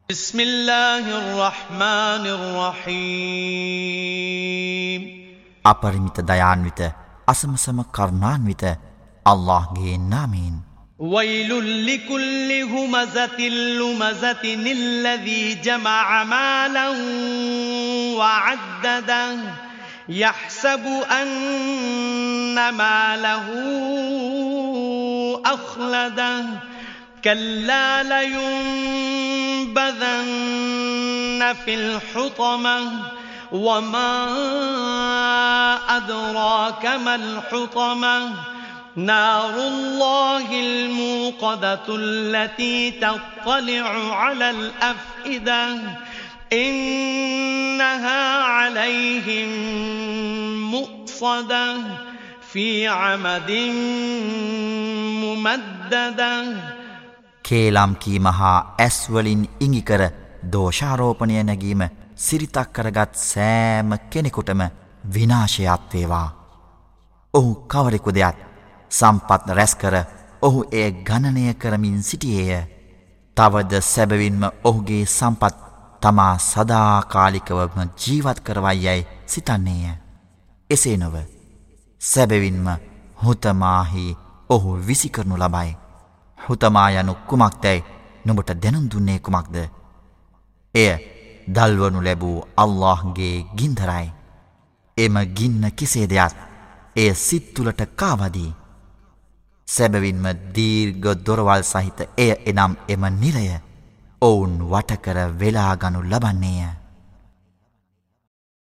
بسم الله الرحمن الرحيم අපරිමිත දයාන්විත අසමසම කරුණාන්විත අල්ලාහ්ගේ නාමයෙන් ويل لكل همزة لمزة الذي جمع مالا وعدده يحسب أن ماله أخلده كلا لينبذن في الحطمة وما أدراك ما الحطمة نار الله الموقدة التي تطلع على الأفئدة إنها عليهم مؤصدة في عمد ممددة කේලම් කීම හා ඇස් වලින් ඉඟි කර දෝෂාරෝපණය නැගීම සිරිතක් කරගත් සෑම කෙනෙකුටම විනාශයක් වේවා. ඔහු කවරෙකුදයක් සම්පත් රැස් කර ඔහු එය ගණනය කරමින් සිටියේය. තවද සැබවින්ම ඔහුගේ සම්පත් තමා සදාකාලිකවම ජීවත් කරවයි සිතන්නේය. එසේ නොව සැබවින්ම හුතමාහි ඔහු විසිකරනු ලබයි. හුතමා යනු කුමක්දැයි නුඹට දැනුම් දුන්නේ කුමක්ද? එය දල්වනු ලැබූ අල්ලාහ්ගේ ගින්දරයි. එම ගින්න කෙසේදයක් එය සිත් තුළට කාවදී. සැබවින්ම දීර්ඝ දොරවල් සහිත එය එනම් එම නිරය ඔවුන් වටකර වෙලාගනු ලබන්නේය.